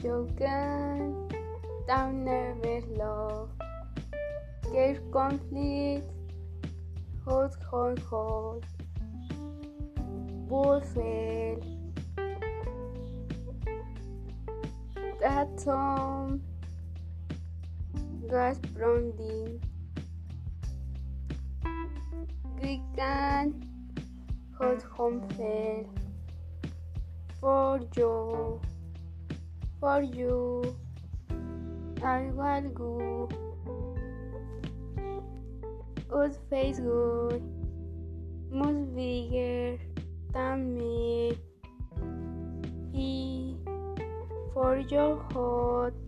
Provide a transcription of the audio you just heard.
You can down never love. Care conflict, hot. Bullfell. Atom. Gas branding. Weekend. Hot home fair. For you, I will go. Good face good, much bigger than me. E for your hot.